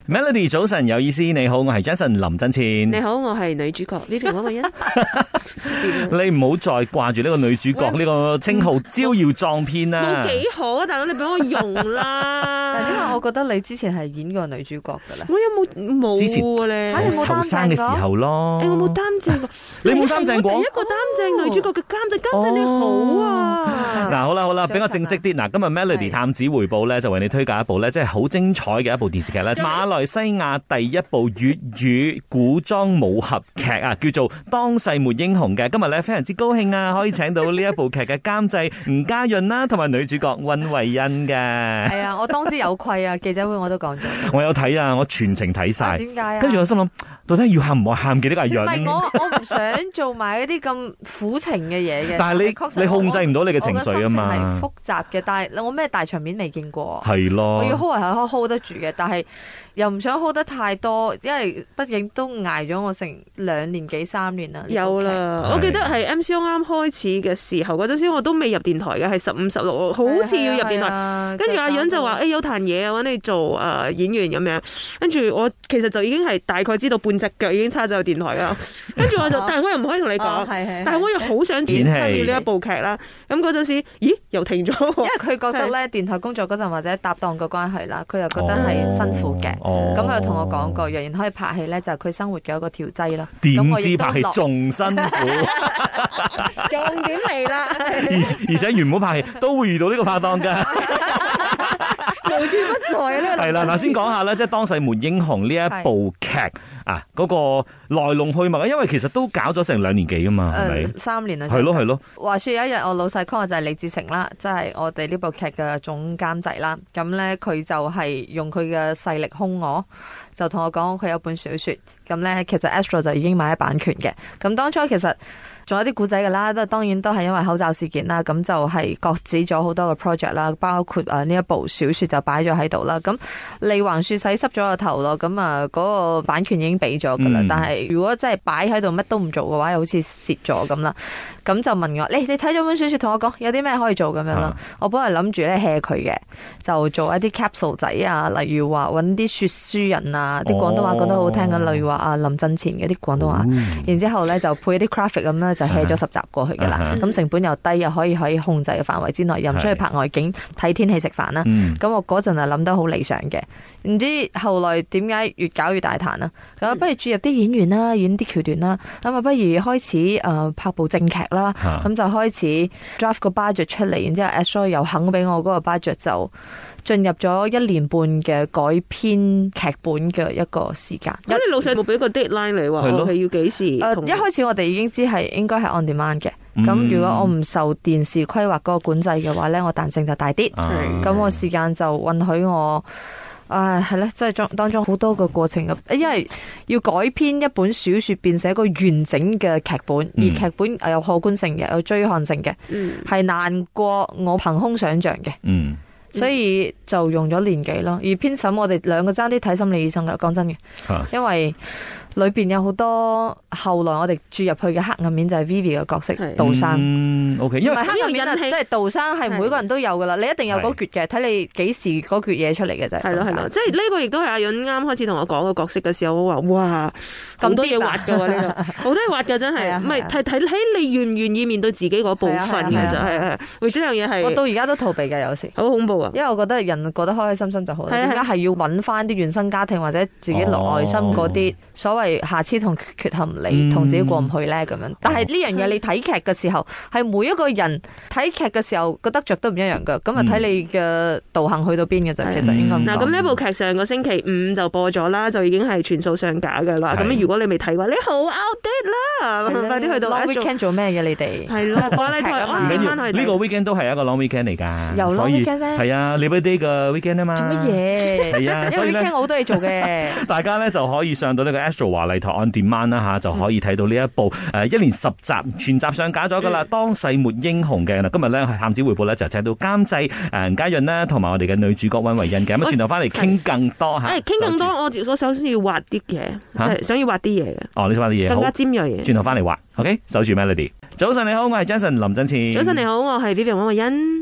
Melody 早晨有意思，你好，我係 Jason 林振前。 你好，我係女主角呢邊嗰個人。 你唔好再掛住呢個女主角呢個稱號招搖撞騙啦。 冇幾好啊，大佬你俾我用啦。 但係因為我覺得你之前係演過女主角噶啦。 我有冇之前咧？ 後生嘅時候咯。 我冇擔正過。 你冇擔正過？ 第一個擔正女主角嘅監製你好啊。 嗱，好啦，比較正式啲。嗱，今日 Melody 探子回報咧，就為你推介一部咧，即係好精彩嘅一部電視劇咧。馬來西亞第一部粵語古裝武俠劇啊，叫做《當世沒英雄》嘅。今日咧非常之高興啊，可以請到呢一部劇嘅監製吳家潤啦，同埋女主角溫慧欣嘅。 係啊，我當之有愧啊！記者會我都講咗。 我有睇啊，我全程睇晒。 點解啊？ 跟住我心諗，到底要喊唔喊嘅呢個係潤？ 唔係我唔想做埋一啲咁苦情嘅嘢嘅。 但係你控制唔到你嘅情緒啊嘛。 我嘅心情係複雜嘅，但係我咩大場面未見過。 係咯。 我要 hold 係 hold 得住嘅，但係又唔想 hold 得太多，因為畢竟都捱咗我成2年幾3年啦。 有啦，我記得係 MCO 啱開始嘅時候嗰陣時，我都未入電台嘅，係15、16，好似要入電台。跟住阿潤就話：有壇嘢啊，揾你做演員咁樣。跟住我其實就已經係大概知道半隻腳已經叉咗入電台啦。跟住我就，但係我又唔可以同你講，但係我又好想參與呢一部劇啦。咁嗰陣時，咦又停咗？ 因為佢覺得咧電台工作嗰陣或者搭檔嘅關係啦，佢又覺得係辛苦嘅。咁佢又同我講過，若然可以拍戲咧，就係佢生活嘅一個調劑啦。 點知拍戲仲辛苦？ 重點嚟啦！ 而且原本拍戲都會遇到呢個拍檔㗎。 無處不在咧。 係啦，嗱，先講下咧，即係《當世沒英雄》呢一部劇啊，嗰個來龍去脈啊，因為其實都搞咗成2年幾㗎嘛，係咪 ？3年啦。 係咯。 話說有一日，我老細 call 我就係李志成啦，即係我哋呢部劇嘅總監製啦。咁咧佢就係用佢嘅勢力兇我，就同我講佢有本小說。咁咧其實 Astro 就已經買咗版權嘅。咁當初其實仲有啲故仔㗎啦，當然都係因為口罩事件啦，咁就係擱置咗好多嘅 project 啦，包括呢一部小說就擺咗喺度啦。咁利橫樹洗濕咗個頭咯，咁嗰個版權已經俾咗㗎啦。但係如果真係擺喺度乜都唔做嘅話，又好似蝕咗咁啦。咁就問我，你睇咗本小說，同我講有啲咩可以做咁樣啦。我本來諗住咧 hea 佢嘅，就做一啲 capsule 仔啊，例如話揾啲說書人啊，啲廣東話講得好聽嘅，例如話林振前嘅啲廣東話，然之後咧就配一啲 graphic 咁咧，就 hea 咗10集過去㗎啦。咁成本又低，又可以控制嘅範圍之內，又唔出去拍外景睇天氣食飯啦。咁我嗰陣係諗得好理想嘅，唔知後來點解越搞越大壇啦。咁不如注入啲演員啦，演啲橋段啦，咁啊不如開始拍部正劇啦，咁就開始 draft 個 budget 出嚟，然之後 Astro 又肯俾我嗰個 budget，就進入咗1年半嘅改編劇本嘅一個時間。 咁你老細冇俾個 deadline 嚟話係要幾時？ 一開始我哋已經知係應該係 on demand 嘅。咁如果我唔受電視規劃嗰個管制嘅話咧，我彈性就大啲。咁我時間就允許我。係咧，即係當中好多個過程嘅，因為要改編一本小說變成一個完整嘅劇本，而劇本有可觀性嘅，有追看性嘅，係難過我憑空想象嘅，所以就用咗年幾咯。而編審我哋2個爭啲睇心理醫生噶，講真嘅，因為裏邊有好多後來我哋注入去嘅黑暗面，就係 Vivi 嘅角色杜生。 OK， 因為黑暗面即係杜生係每個人都有噶啦，你一定有嗰橛嘅，睇你幾時嗰橛嘢出嚟嘅啫。 係咯，即係呢個亦都係阿潤啱開始同我講個角色嘅時候，我話哇咁多嘢挖噶喎，呢個好多嘢挖噶真係，唔係睇睇你願唔願意面對自己嗰部分嘅就係，為咗呢樣嘢係。 我到而家都逃避嘅，有時好恐怖啊！ 因為我覺得人過得開開心心就好，點解係要揾翻啲原生家庭或者自己內心嗰啲所謂瑕疵同缺陷你同自己過唔去咧咁樣？但係呢樣嘢你睇劇嘅時候，係每一個人睇劇嘅時候覺得着都唔一樣噶，咁啊睇你嘅道行去到邊嘅啫。其實應該嗱，咁呢部劇上個星期5就播咗啦，就已經係全數上架噶啦。咁如果你未睇嘅話，你好 outdate 啦，快啲去到 Long weekend 做咩嘅你哋？ 係咯，我呢台唔緊要，呢個 weekend 都係一個 long weekend 嚟㗎， 有 long weekend 咩？ 係啊 Labor Day 嘅 weekend 啊嘛。 做乜嘢？ 係啊，所以咧 weekend 好多嘢做嘅。 大家咧就可以上到呢個 Astro 華麗台 on demand 啦嚇，就可以睇到呢一部1年10集全集上架咗㗎啦。當世沒英雄嘅嗱，今日咧係探子回報咧就請到監製吳家潤啦，同埋我哋嘅女主角溫慧欣嘅。咁轉頭翻嚟傾更多嚇。 傾更多，我首先要挖啲嘢，想要挖啲嘢嘅。 哦，你想挖啲嘢， 更加尖鋭嘅。 轉頭翻嚟挖 ，OK， 守住 Melody。早晨你好，我係 Jason 林振前。 早晨你好，我係 Vivian 溫慧欣。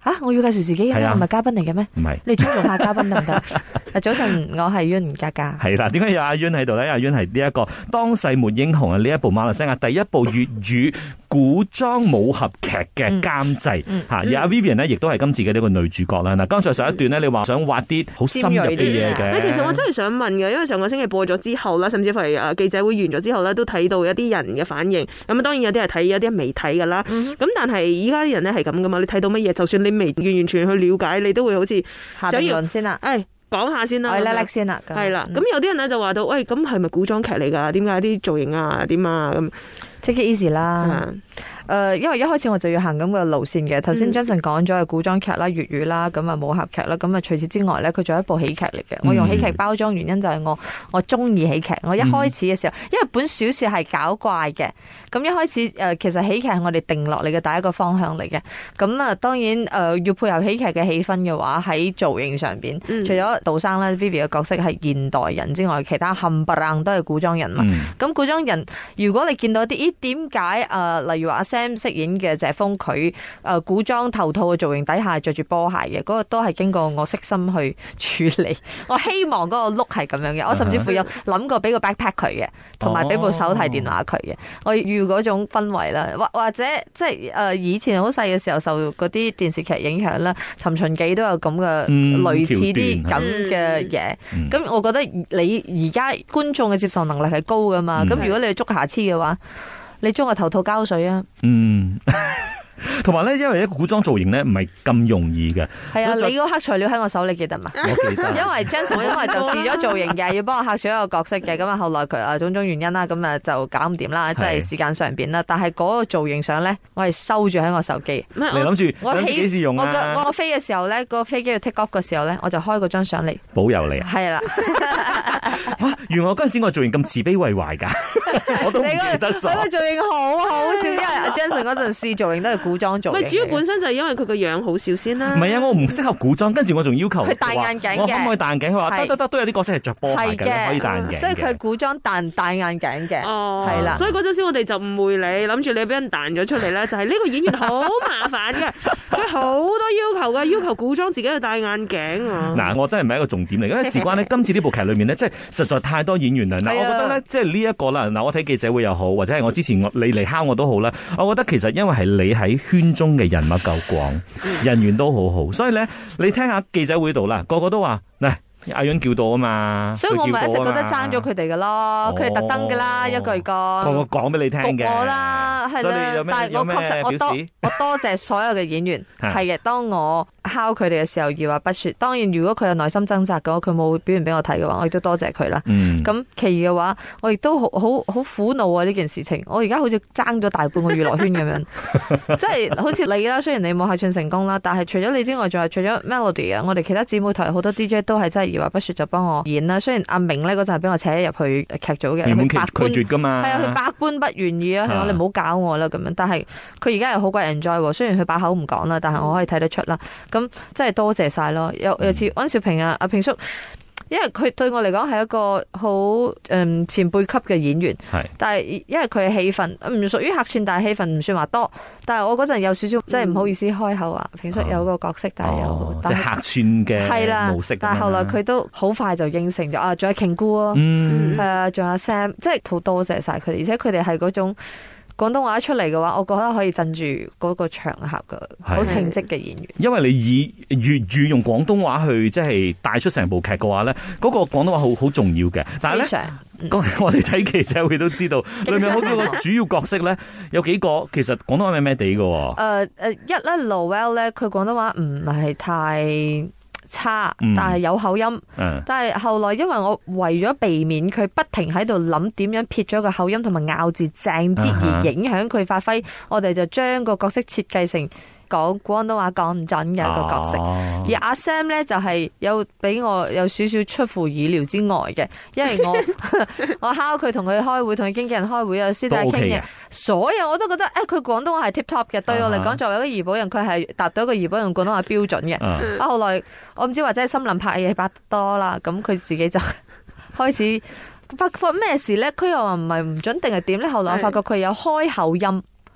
我要介紹自己嘅咩？唔係嘉賓嚟嘅咩？ 唔係， 你尊重下嘉賓得唔得？早晨，我係袁嘉嘉。 係啦，點解有阿袁喺度咧？阿袁係呢一個當世沒英雄啊！呢一部馬來西亞第一部粵語古裝武俠劇嘅監製吓，而阿 Vivian 呢，亦都係今次嘅呢個女主角啦。嗱，剛才上一段呢，你話想挖啲好深入嘅嘢嘅。 其實我真係想問嘅，因為上個星期播咗之後啦，甚至乎係記者會完咗之後咧，都睇到一啲人嘅反應。咁當然有啲係睇，有啲未睇噶啦。咁但係依家啲人咧係咁噶嘛？你睇到乜嘢，就算你未完全去了解，你都會好似下評論先啦。 講下先啦， 我叻叻先啦。 係啦，咁有啲人咧就話到，喂，咁係咪古裝劇嚟㗎？點解啲造型啊？點啊？咁 take it easy 啦。因為一開始我就要行咁嘅路線嘅。頭先 Jason 講咗係古裝劇啦、粵語啦，咁啊武俠劇啦，咁啊除此之外咧，佢仲有一部喜劇嚟嘅。我用喜劇包裝原因就係我中意喜劇。我一開始嘅時候，因為本小說係搞怪嘅，咁一開始其實喜劇係我哋定落嚟嘅第一個方向嚟嘅。咁啊當然要配合喜劇嘅氣氛嘅話，喺造型上邊，除咗杜生咧 Vivi 嘅角色係現代人之外，其他冚唪唥都係古裝人嘛。咁古裝人，如果你見到啲點解例如話Sam 飾演嘅謝峰，佢古裝頭套嘅造型底下着住波鞋嘅，嗰個都係經過我悉心去處理。我希望嗰個 look 係咁樣嘅，我甚至乎有諗過俾個 backpack 佢嘅，同埋俾部手提電話佢嘅。我要嗰種氛圍啦，或者即係以前好細嘅時候受嗰啲電視劇影響啦，《尋秦記》都有咁嘅類似啲咁嘅嘢。咁我覺得你而家觀眾嘅接受能力係高噶嘛，咁如果你捉瑕疵嘅話，你將個頭套膠水啊！ 同埋咧，因為一個古裝造型咧唔係咁容易嘅。 係啊，你個黑材料喺我手，你記得嘛？ 我記得。 因為 Jason 因為就試咗造型嘅，要幫我客串一個角色嘅，咁啊後來佢種種原因啦，咁啊就搞唔掂啦，即係時間上邊啦。但係嗰個造型相咧，我係收住喺我手機。 你諗住我幾時用啊？ 我飛嘅時候咧，個飛機要 take off 嘅時候咧，我就開嗰張相嚟保佑你。係啦。原來嗰陣時我造型咁慈悲為懷㗎，我都唔記得咗。 你個造型好好笑，因為阿 Jason 嗰陣試造型都係古裝造型。 主要本身就係因為佢個樣好笑先啦。 唔係啊，我唔適合古裝，跟住我仲要求佢戴眼鏡嘅。 我可唔可以戴眼鏡？佢話得，都有啲角色係着波鞋嘅，可以戴眼鏡。 所以佢古裝但戴眼鏡嘅。 哦， 係啦。 所以嗰陣時我哋就誤會你，諗住你俾人彈咗出嚟咧，就係呢個演員好麻煩嘅，佢好多要求嘅，要求古裝自己去戴眼鏡啊。 嗱，我真係唔係一個重點嚟，因為事關呢，今次呢部劇裏面呢，即係實在太多演員啦。嗱，我覺得咧，即係呢一個啦。嗱，我睇記者會又好，或者係我之前你嚟敲我都好啦。我覺得其實因為係你喺圈中嘅人物夠廣，人緣都好好，所以咧，你聽下記者會度啦，個個都話嗱。阿潤叫到啊嘛， 所以我咪一直覺得爭咗佢哋噶咯，佢哋特登噶啦，一句講， 我講俾你聽嘅， 我啦，係啦，但係我確實我多謝所有嘅演員，係嘅。當我敲佢哋嘅時候，二話不說。當然，如果佢有內心掙扎嘅話，佢冇表現俾我睇嘅話，我亦都多謝佢啦。咁其餘嘅話，我亦都好苦惱啊！呢件事情，我而家好似爭咗大半個娛樂圈咁樣，即係好似你啦。雖然你冇客串成功啦，但係除咗你之外，仲係除咗 Melody 啊，我哋其他姊妹台好多 DJ 都係真係。二話不說就幫我演啦，雖然阿明咧嗰陣係俾我扯入去劇組嘅，佢拒絕噶嘛， 係啊，佢百般不願意啊，你唔好搞我啦咁樣。但係佢而家係好鬼 enjoy，雖然佢把口唔講啦，但係我可以睇得出啦。咁真係多謝晒咯。有次安兆平啊，阿平叔。因為佢對我嚟講係一個好前輩級嘅演員，但係因為佢嘅戲份唔屬於客串，但係戲份唔算話多。但係我嗰陣有少少即係唔好意思開口話，平叔有個角色，但係有即係客串嘅模式。 但係後來佢都好快就應承咗啊，仲有瓊姑啊，係啊，仲有 Sam， 即係好多謝晒佢哋，而且佢哋係嗰種。廣東話一出嚟嘅話，我覺得可以鎮住嗰個場合嘅，好稱職嘅演員。 因為你以粵語用廣東話去即係帶出成部劇嘅話咧，嗰個廣東話好重要嘅。但係咧，我哋睇記者會都知道，裏面好多個主要角色咧，有幾個其實廣東話咩咩地嘅。 一咧 Lowell 咧，佢廣東話唔係太差，但係有口音。但係後來因為我為咗避免佢不停喺度諗點樣撇咗個口音同埋咬字正啲而影響佢發揮，我哋就將個角色設計成講廣東話講唔準嘅一個角色。而阿 Sam 咧就係有俾我有少少出乎意料之外嘅，因為我敲佢同佢開會，同佢經紀人開會有私底下傾嘅，所有我都覺得佢廣東話係 tip top 嘅。對我嚟講，作為一個怡保人，佢係達到一個怡保人廣東話標準嘅。後來我唔知或者係森林拍嘢拍多啦，咁佢自己就開始發覺咩事咧？佢又話唔係唔準定係點咧？後來我發覺佢有開口音。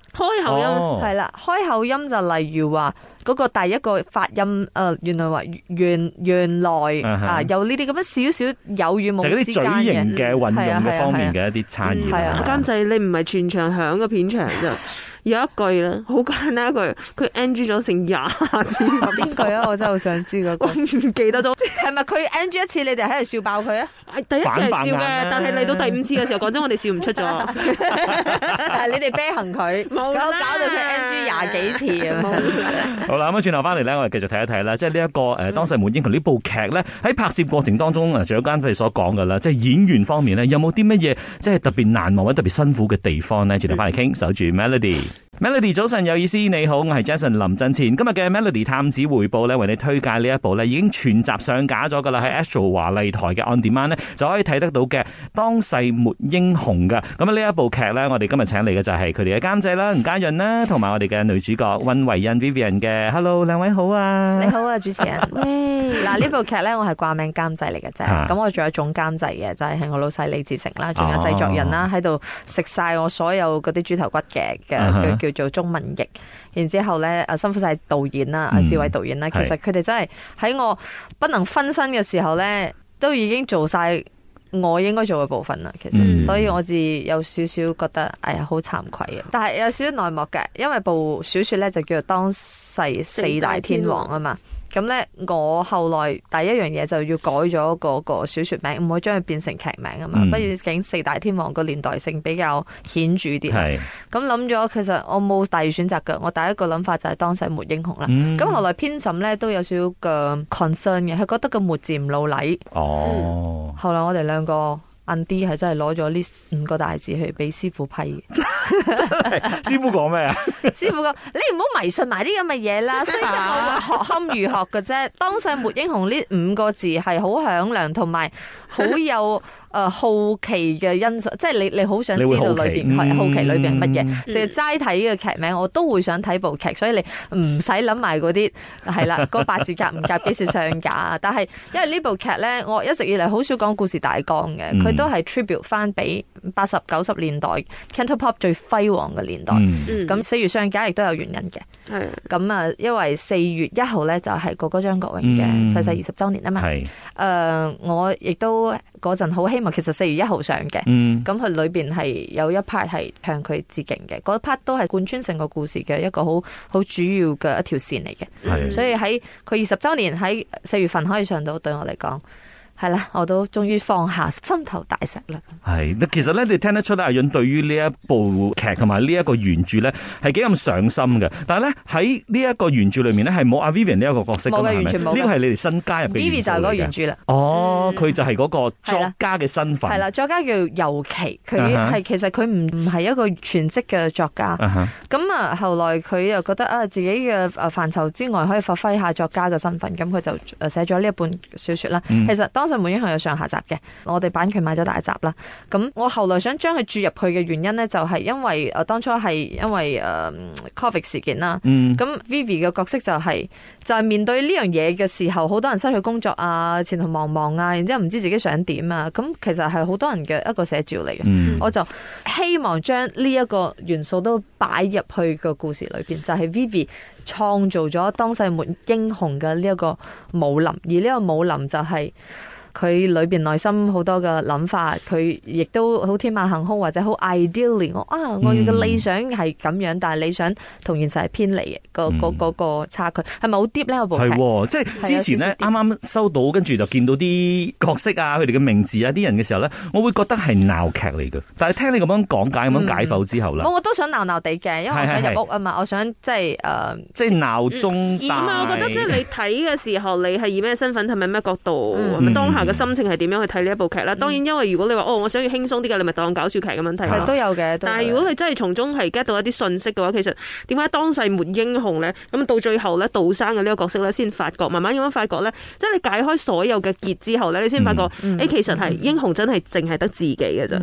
開口音係啦，開口音就例如話嗰個第一個發音，原來話原來有呢啲咁樣少少有語冇之間就係嗰啲嘴型嘅運用嘅方面嘅一啲差異。 監製你唔係全場響個片場咋？有一句啦，好簡單一句，佢 NG 咗成20次。 邊句啊？我真係好想知嗰個。 我唔記得咗， 係咪佢 NG 一次，你哋喺度笑爆佢啊？ 第一次係笑嘅，但係嚟到第5次嘅時候，講真，我哋笑唔出咗。 但係你哋啤行佢，搞到佢 NG 20幾次啊！ 好啦，咁轉頭翻嚟咧，我哋繼續睇一睇啦。即係呢一個《當世門英雄》呢部劇咧，喺拍攝過程當中啊，除咗啱啱所講嘅啦，即係演員方面咧，有冇啲乜嘢即係特別難忘或者特別辛苦嘅地方咧？轉頭翻嚟傾，守住 Melody。Melody 早晨有意思，你好，我係 Jason 林振前。今日嘅 Melody 探子回報咧，為你推介呢一部咧已經全集上架咗噶啦，喺 Astro 華麗台嘅 On Demand 咧就可以睇得到嘅《當世沒英雄》噶。咁啊呢一部劇咧，我哋今日請嚟嘅就係佢哋嘅監製啦，吳嘉潤啦，同埋我哋嘅女主角溫維恩 Vivian 嘅。Hello， 兩位好啊！ 你好啊，主持人。嗱呢部劇咧，我係掛名監製嚟嘅啫。咁我仲有總監製嘅，就係我老細李志成啦，仲有製作人啦，喺度食晒我所有嗰啲豬頭骨嘅叫做中文譯，然之後咧辛苦晒導演啦，志偉導演啦，其實佢哋真係喺我不能分身嘅時候咧，都已經做晒我應該做嘅部分啦。其實，所以我自有少少覺得，哎呀，好慚愧啊！但係有少少內幕嘅，因為部小說咧就叫做《當世四大天王》啊嘛。咁咧，我後來第一樣嘢就要改咗嗰個小說名，唔可以將佢變成劇名啊嘛。不如竟四大天王個年代性比較顯著啲。咁諗咗，其實我冇第二選擇㗎。我第一個諗法就係當世沒英雄啦。咁後來編審咧都有少少嘅 concern 嘅，佢覺得個沒字唔老禮。後來我哋兩個Andy 係真係攞咗呢5個大字去俾師傅批嘅。 師傅講咩啊？ 師傅講：你唔好迷信埋啲咁嘅嘢啦，雖然我學堪如學嘅啫。當世沒英雄呢5個字係好響亮，同埋好有好奇嘅因素，即係你好想知道裏邊係好奇裏邊係乜嘢。就齋睇嘅劇名，我都會想睇部劇，所以你唔使諗埋嗰啲係啦，嗰8字夾唔夾幾時上架啊？但係因為呢部劇咧，我一直以嚟好少講故事大綱嘅，佢都係 tribute 翻俾80、90年代 Cantopop 最輝煌嘅年代。咁4月上架亦都有原因嘅。咁啊，因為4月1號咧就係哥哥張國榮嘅逝世20週年啊嘛。我亦都嗰陣好希望，其實4月1號上嘅。咁佢裏邊係有一 part 係向佢致敬嘅，嗰 part 都係貫穿成個故事嘅一個好主要嘅一條線嚟嘅。所以喺佢20週年喺4月份可以上到，對我嚟講。係啦，我都終於放下心頭大石啦。係， 其實咧，你聽得出咧，阿潤對於呢一部劇同埋呢一個原著咧，係幾咁上心嘅。但係咧喺呢一個原著裏面咧，係冇阿 Vivian 呢一個角色㗎嘛，係咪？完全冇。呢個係你哋新加入嘅元素嚟嘅。Vivi 就係嗰個原著啦。佢就係嗰個作家嘅身份。係啦，作家叫尤琪，佢其實佢唔係一個全職嘅作家。咁啊，後來佢又覺得自己嘅範疇之外可以發揮下作家嘅身份，咁佢就寫咗呢一本小說啦。其實當世沒英雄有上下集嘅，我哋版權買咗大集啦。咁我後來想將佢注入去嘅原因咧，就係因為當初係因為Covid 事件啦。咁 Vivi 嘅角色就係面對呢樣嘢嘅時候，好多人失去工作啊，前途茫茫啊，然之後唔知自己想點啊。咁其實係好多人嘅一個寫照嚟嘅。我就希望將呢一個元素都擺入去個故事裏邊，就係 Vivi 創造咗當世沒英雄嘅呢一個武林，而呢個武林就係佢裏邊內心好多嘅諗法，佢亦都好天馬行空或者好 ideally， 我要嘅理想係咁樣，但係理想同現實係偏離嘅個差距，係咪好 deep 呢？部劇係即係之前咧啱啱收到，跟住就見到啲角色啊，佢哋嘅名字啊，啲人嘅時候咧，我會覺得係鬧劇嚟嘅。但係聽你咁樣講解、咁樣解剖之後咧， 我都想鬧鬧地嘅，因為我想入屋啊嘛，我想即係鬧中帶。 我覺得即係你睇嘅時候，你係以咩身份，係咪咩角度，係咪當下嘅心情係點樣去睇呢一部劇啦？當然，因為如果你話我想要輕鬆啲嘅，你咪當搞笑劇咁樣睇。 都有嘅。 但係如果你真係從中係 get 到一啲信息嘅話，其實點解當世沒英雄咧？咁到最後咧，杜生嘅呢個角色咧，先發覺，慢慢咁樣發覺咧，即係你解開所有嘅結之後咧，你先發覺，其實係英雄真係淨係得自己嘅啫。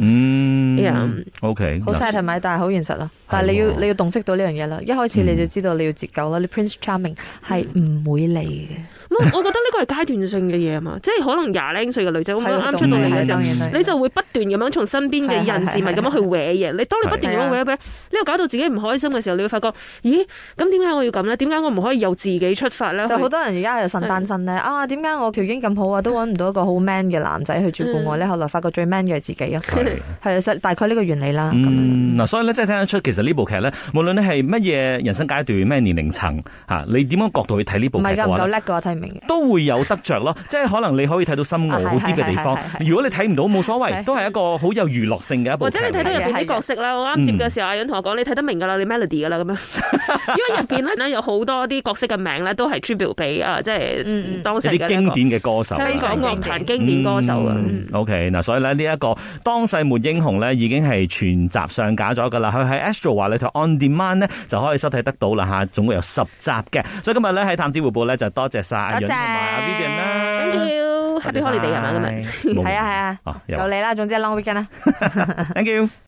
OK， 好 sad 係咪？但係好現實啦。但係你要洞悉到呢樣嘢啦。一開始你就知道你要截救啦。你 Prince Charming 係唔會嚟嘅。 我覺得呢個係階段性嘅嘢啊嘛，即係可能20零歲嘅女仔咁啱出到嚟嘅時候，你就會不斷咁樣從身邊嘅人事物咁樣去搲嘢。你當你不斷咁樣搲，呢個搞到自己唔開心嘅時候，你會發覺，咦？咁點解我要咁咧？點解我唔可以由自己出發咧？ 就好多人而家係腎單身咧，點解我條件咁好啊，都揾唔到一個好 man 嘅男仔去照顧我咧？後來發覺最 man 嘅係自己啊，係大概呢個原理啦。 嗱，所以咧，即係聽得出，其實呢部劇咧，無論你係乜嘢人生階段、咩年齡層嚇，你點樣角度去睇呢部劇嘅話， 唔夠叻嘅話睇唔明嘅， 都會有得着咯。即係可能你可以睇到深奧啲嘅地方。如果你睇唔到，冇所謂，都係一個好有娛樂性嘅一部劇。 或者你睇到入邊啲角色啦，我啱接嘅時候，阿允同我講，你睇得明㗎啦，你 Melody 㗎啦咁樣。因為入邊咧有好多啲角色嘅名咧，都係 tribute 俾即係當時嘅啲經典嘅歌手， 香港樂壇經典歌手啊。 OK， 嗱，所以咧呢一個當世沒英雄咧，已經係全集上架咗㗎啦。佢喺 Astro 話裏頭 On Demand 咧就可以收睇得到啦嚇，總共有10集嘅。所以今日咧喺探子回報咧就多謝晒阿允同埋阿 Vivian 啦。 Thank you，Happy Holiday 係嘛今日？ 係啊，就你啦，總之 Long Weekend 啦。 Thank you。